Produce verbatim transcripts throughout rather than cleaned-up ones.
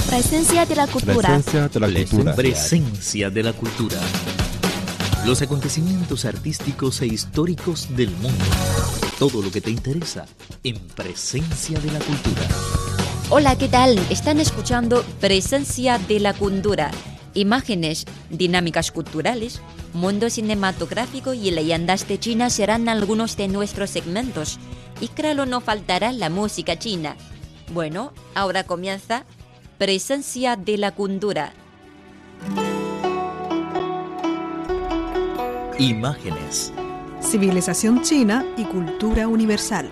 Presencia de la cultura. Presencia de la cultura. Presencia de la cultura. Los acontecimientos artísticos e históricos del mundo. Todo lo que te interesa en Presencia de la cultura. Hola, ¿qué tal? Están escuchando Presencia de la cultura. Imágenes, dinámicas culturales, mundo cinematográfico y leyendas de China serán algunos de nuestros segmentos. Y claro, no faltará la música china. Bueno, ahora comienza Presencia de la cultura. Imágenes. Civilización china y cultura universal.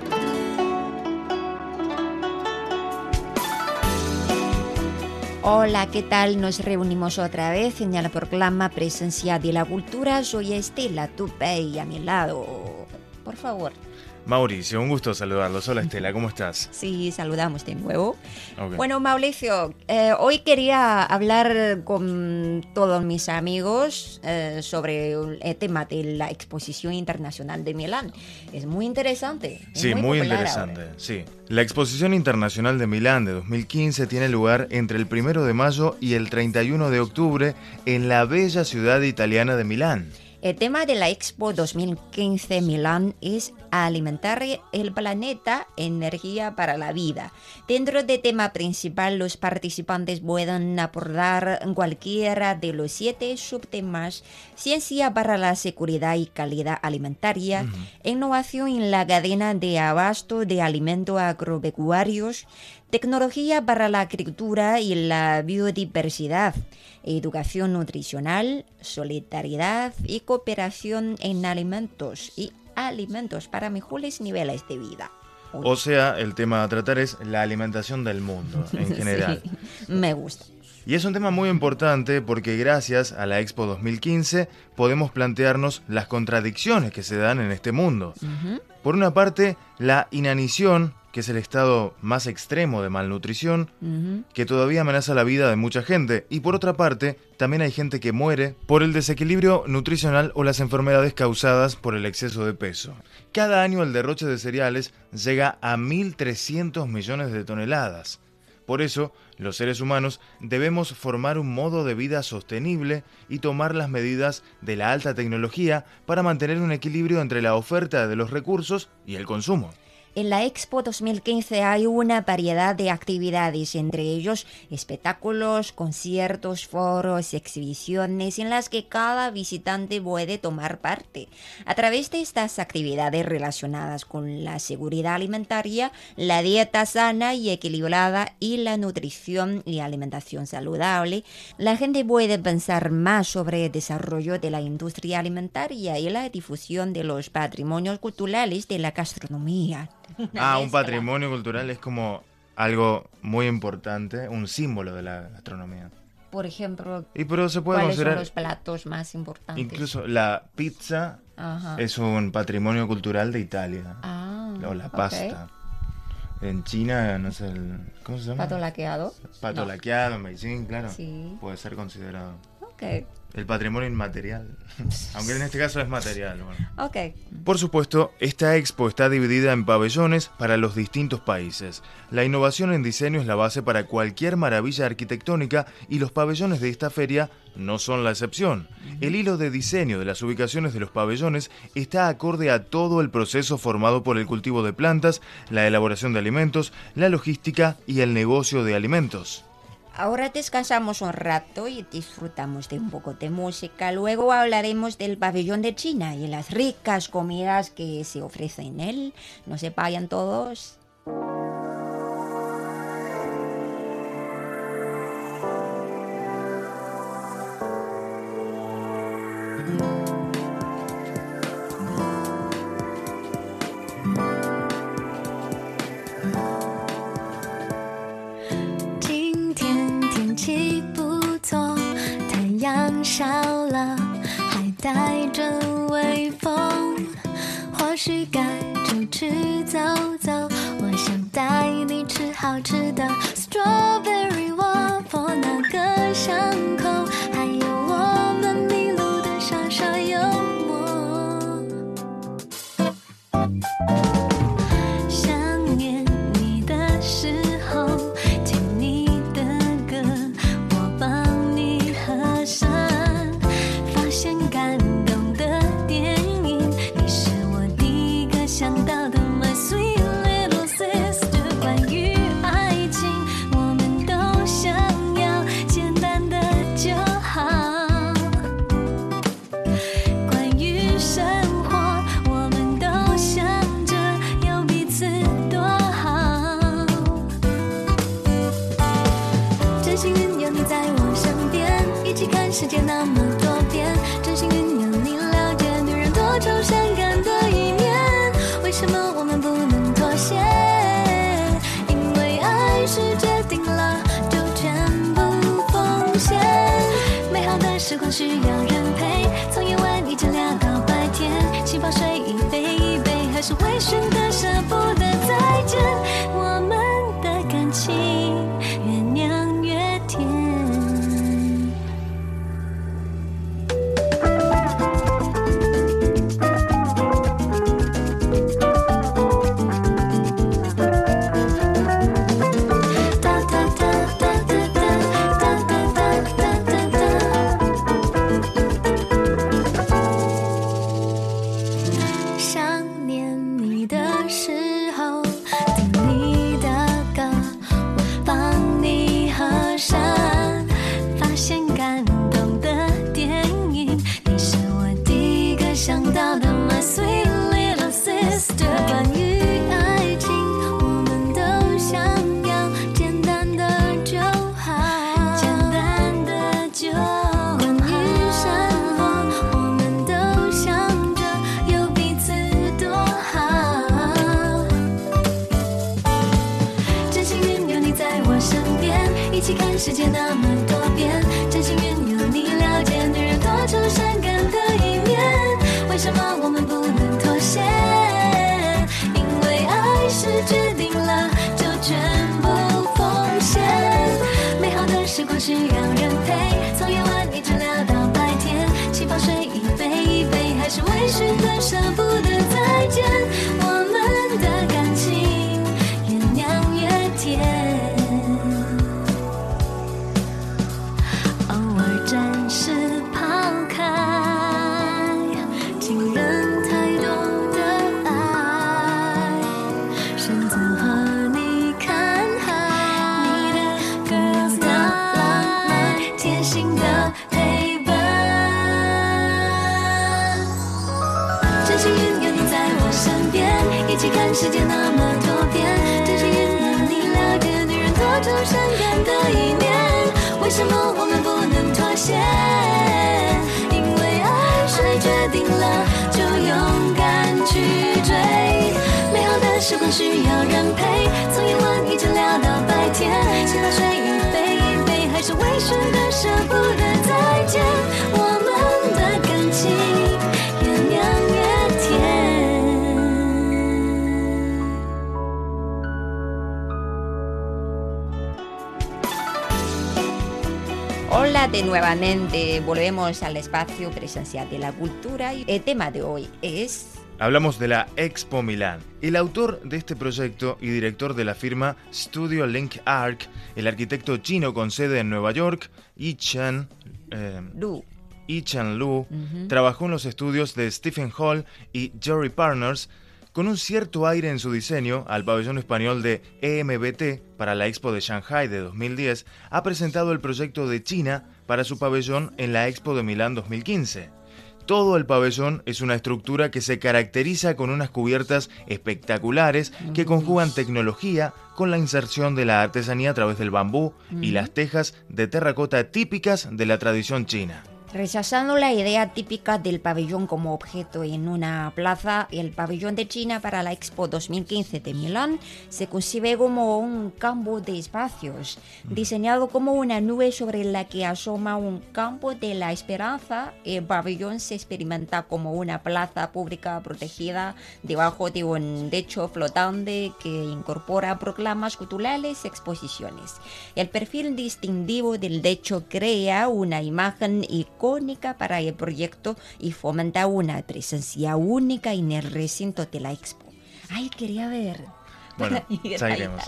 Hola, ¿qué tal? Nos reunimos otra vez en el programa Presencia de la Cultura. Soy Estela Tupe y a mi lado, por favor. Mauricio, un gusto saludarlos. Hola Estela, ¿cómo estás? Sí, saludamos de nuevo. Okay. Bueno, Mauricio, eh, hoy quería hablar con todos mis amigos eh, sobre el tema de la Exposición Internacional de Milán. Es muy interesante. Es sí, muy, muy popular interesante. ahora. Sí. La Exposición Internacional de Milán de dos mil quince tiene lugar entre el primero de mayo y el treinta y uno de octubre en la bella ciudad italiana de Milán. El tema de la Expo dos mil quince Milán es alimentar el planeta, energía para la vida. Dentro del tema principal, los participantes pueden abordar cualquiera de los siete subtemas: ciencia para la seguridad y calidad alimentaria, uh-huh. innovación en la cadena de abasto de alimentos agropecuarios, tecnología para la agricultura y la biodiversidad, educación nutricional, solidaridad y cooperación en alimentos y alimentos para mejores niveles de vida. Uy. O sea, el tema a tratar es la alimentación del mundo en general. Sí, me gusta. Y es un tema muy importante porque gracias a la Expo dos mil quince podemos plantearnos las contradicciones que se dan en este mundo. Uh-huh. Por una parte, la inanición, que es el estado más extremo de malnutrición, uh-huh. que todavía amenaza la vida de mucha gente. Y por otra parte, también hay gente que muere por el desequilibrio nutricional o las enfermedades causadas por el exceso de peso. Cada año el derroche de cereales llega a mil trescientos millones de toneladas. Por eso, los seres humanos debemos formar un modo de vida sostenible y tomar las medidas de la alta tecnología para mantener un equilibrio entre la oferta de los recursos y el consumo. En la Expo dos mil quince hay una variedad de actividades, entre ellos espectáculos, conciertos, foros, exhibiciones en las que cada visitante puede tomar parte. A través de estas actividades relacionadas con la seguridad alimentaria, la dieta sana y equilibrada y la nutrición y alimentación saludable, la gente puede pensar más sobre el desarrollo de la industria alimentaria y la difusión de los patrimonios culturales de la gastronomía. Ah, un patrimonio cultural es como algo muy importante, un símbolo de la gastronomía. Por ejemplo, y pero se puede ¿cuáles considerar son los platos más importantes? Incluso la pizza. Ajá. Es un patrimonio cultural de Italia. Ah, o la pasta. Okay. En China, no sé, el, ¿cómo se llama? Pato laqueado. Pato no. laqueado, en Beijing, claro. Sí. Puede ser considerado. Okay. El patrimonio inmaterial, aunque en este caso es material. Bueno. Okay. Por supuesto, esta expo está dividida en pabellones para los distintos países. La innovación en diseño es la base para cualquier maravilla arquitectónica y los pabellones de esta feria no son la excepción. El hilo de diseño de las ubicaciones de los pabellones está acorde a todo el proceso formado por el cultivo de plantas, la elaboración de alimentos, la logística y el negocio de alimentos. Ahora descansamos un rato y disfrutamos de un poco de música. Luego hablaremos del pabellón de China y las ricas comidas que se ofrecen en él. No se vayan todos. Strawberry waffle 那个巷口，还有我们迷路的傻傻幽默。想念你的时候，听你的歌。 世界那么多变，真心运用你了解女人多愁善感的一面。为什么我们不能妥协？因为爱是决定了就全部奉献。美好的时光需要人陪，从夜晚一直聊到白天，气泡水一杯一杯，还是微醺的舍不得再见。我们的感情越酿越甜。世界那么多变，真心运用你了解女人多愁善感的一面。为什么我们不能妥协？因为爱是决定了就全部奉献。美好的时光需要人陪，从夜晚一直聊到白天，气泡水一杯一杯，还是微醺的舍不得再见。我们的感情越酿越甜。暂时抛开情人太多的爱，选择和你看海，你的 girls 的浪漫，贴心的陪伴。真心运用你在我身边，一起看世界那么多变。真心运用你了解女人多愁善感的一面。为什么我们不能妥协？因为爱是决定了就勇敢去追。美好的时光需要人陪，从夜晚一直聊到白天，气泡水一杯一杯，还是微醺的舍不得再见。我们的感情越酿越甜。 Hola de nuevamente, volvemos al espacio presencial de la cultura y el tema de hoy es... Hablamos de la Expo Milán. El autor de este proyecto y director de la firma Studio Link Arc, el arquitecto chino con sede en Nueva York, Yi-Chan eh, Lu. Yi-Chan Lu, Uh-huh. trabajó en los estudios de Stephen Hall y Jerry Partners con un cierto aire en su diseño. Al pabellón español de E M B T para la Expo de Shanghai de dos mil diez, ha presentado el proyecto de China para su pabellón en la Expo de Milán dos mil quince. Todo el pabellón es una estructura que se caracteriza con unas cubiertas espectaculares que conjugan tecnología con la inserción de la artesanía a través del bambú y las tejas de terracota típicas de la tradición china. Rechazando la idea típica del pabellón como objeto en una plaza, el pabellón de China para la Expo dos mil quince de Milán se concibe como un campo de espacios, diseñado como una nube sobre la que asoma un campo de la esperanza. El pabellón se experimenta como una plaza pública protegida debajo de un techo flotante que incorpora proclamas culturales y exposiciones. El perfil distintivo del techo crea una imagen icónica para el proyecto y fomenta una presencia única en el recinto de la Expo. Ay, quería ver. Bueno, ya iremos.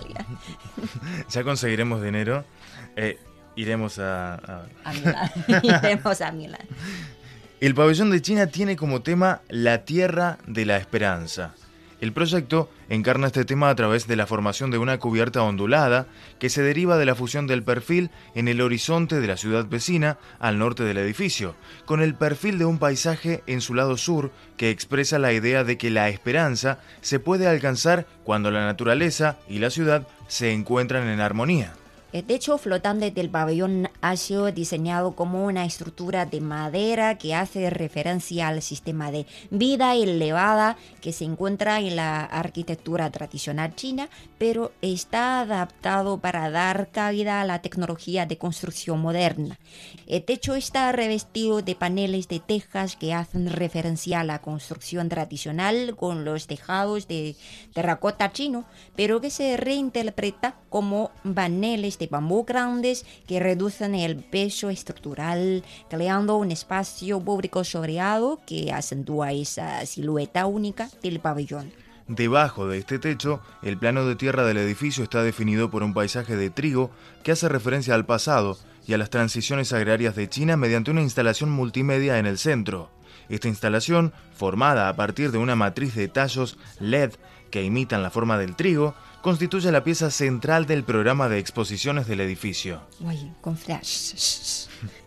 Ya conseguiremos dinero. Eh, iremos a... A, a Milán. Iremos a Milán. El pabellón de China tiene como tema la tierra de la esperanza. El proyecto encarna este tema a través de la formación de una cubierta ondulada que se deriva de la fusión del perfil en el horizonte de la ciudad vecina al norte del edificio, con el perfil de un paisaje en su lado sur que expresa la idea de que la esperanza se puede alcanzar cuando la naturaleza y la ciudad se encuentran en armonía. El techo flotante del pabellón ha sido diseñado como una estructura de madera que hace referencia al sistema de vida elevada que se encuentra en la arquitectura tradicional china, pero está adaptado para dar cabida a la tecnología de construcción moderna. El techo está revestido de paneles de tejas que hacen referencia a la construcción tradicional con los tejados de terracota chino, pero que se reinterpreta como paneles de bambú grandes que reducen el peso estructural, creando un espacio público sombreado que acentúa esa silueta única del pabellón. Debajo de este techo, el plano de tierra del edificio está definido por un paisaje de trigo que hace referencia al pasado y a las transiciones agrarias de China mediante una instalación multimedia en el centro. Esta instalación, formada a partir de una matriz de tallos L E D que imitan la forma del trigo, constituye la pieza central del programa de exposiciones del edificio. Uy, con flash.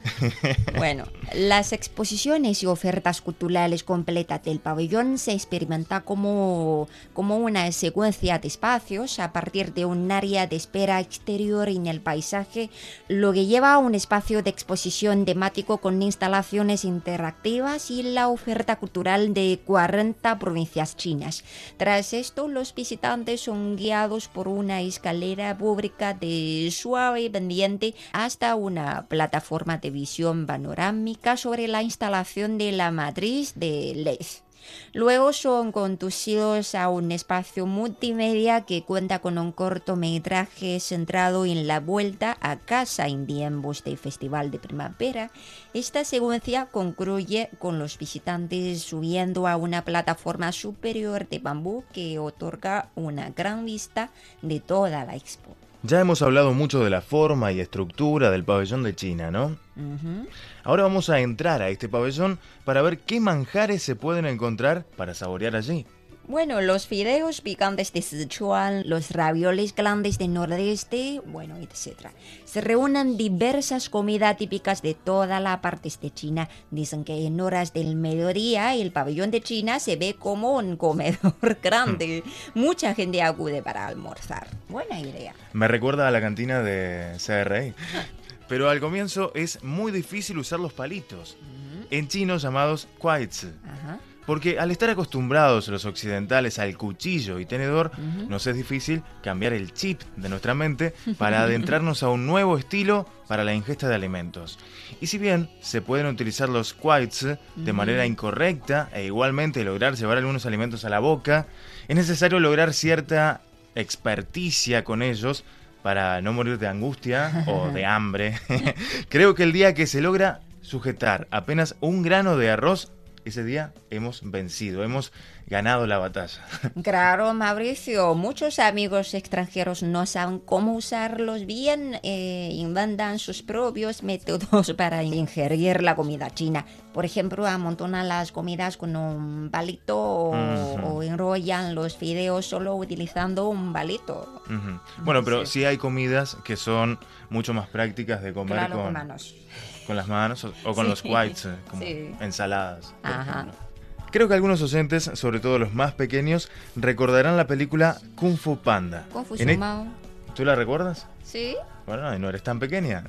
Bueno, las exposiciones y ofertas culturales completas del pabellón se experimenta como, como una secuencia de espacios a partir de un área de espera exterior en el paisaje, lo que lleva a un espacio de exposición temático con instalaciones interactivas y la oferta cultural de cuarenta provincias chinas. Tras esto, los visitantes son guiados por una escalera pública de suave pendiente hasta una plataforma de visión panorámica sobre la instalación de la matriz de L E D. Luego son conducidos a un espacio multimedia que cuenta con un cortometraje centrado en la vuelta a casa en tiempos de festival de primavera. Esta secuencia concluye con los visitantes subiendo a una plataforma superior de bambú que otorga una gran vista de toda la expo. Ya hemos hablado mucho de la forma y estructura del pabellón de China, ¿no? Uh-huh. Ahora vamos a entrar a este pabellón para ver qué manjares se pueden encontrar para saborear allí. Bueno, los fideos picantes de Sichuan, los ravioles grandes del nordeste, bueno, etcétera. Se reúnen diversas comidas típicas de toda la parte de China. Dicen que en horas del mediodía el pabellón de China se ve como un comedor grande. Mucha gente acude para almorzar. Buena idea. Me recuerda a la cantina de C R I. Pero al comienzo es muy difícil usar los palitos, uh-huh. en chino llamados kuaizi. Ajá. Porque al estar acostumbrados los occidentales al cuchillo y tenedor, uh-huh. nos es difícil cambiar el chip de nuestra mente para adentrarnos a un nuevo estilo para la ingesta de alimentos. Y si bien se pueden utilizar los kuaizi uh-huh. de manera incorrecta e igualmente lograr llevar algunos alimentos a la boca, es necesario lograr cierta experticia con ellos para no morir de angustia o de hambre. Creo que el día que se logra sujetar apenas un grano de arroz, ese día hemos vencido, hemos ganado la batalla. Claro, Mauricio, muchos amigos extranjeros no saben cómo usarlos bien, eh, inventan sus propios métodos para ingerir la comida china. Por ejemplo, amontonan las comidas con un palito o, uh-huh. o enrollan los fideos solo utilizando un palito. Uh-huh. Bueno, pero sí. sí hay comidas que son mucho más prácticas de comer claro, con... con manos. Con las manos o, o con sí. los kuaizi, como sí. ensaladas. Ajá. Creo que algunos oyentes, sobre todo los más pequeños, recordarán la película Kung Fu Panda. Kung Fu e- Mao. ¿Tú la recuerdas? Sí. Bueno, no eres tan pequeña.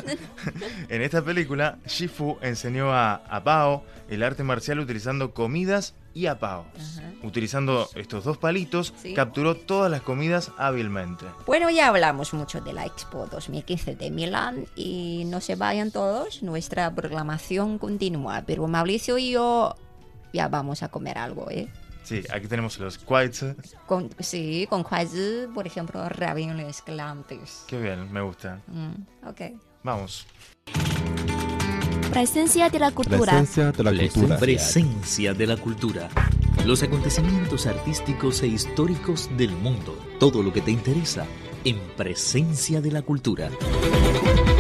En esta película, Shifu enseñó a, a Bao el arte marcial utilizando comidas y apaos. Ajá. Utilizando estos dos palitos, ¿sí? capturó todas las comidas hábilmente. Bueno, ya hablamos mucho de la Expo dos mil quince de Milán y no se vayan todos, nuestra programación continúa, pero Mauricio y yo ya vamos a comer algo, ¿eh? Sí, aquí tenemos los kuaizi. Con, sí, con kuaizi, por ejemplo, ravioles grandes. Qué bien, me gusta. Mm, ok. Vamos. Presencia de la cultura. Presencia de la cultura. Presencia de la cultura. Los acontecimientos artísticos e históricos del mundo. Todo lo que te interesa en Presencia de la Cultura.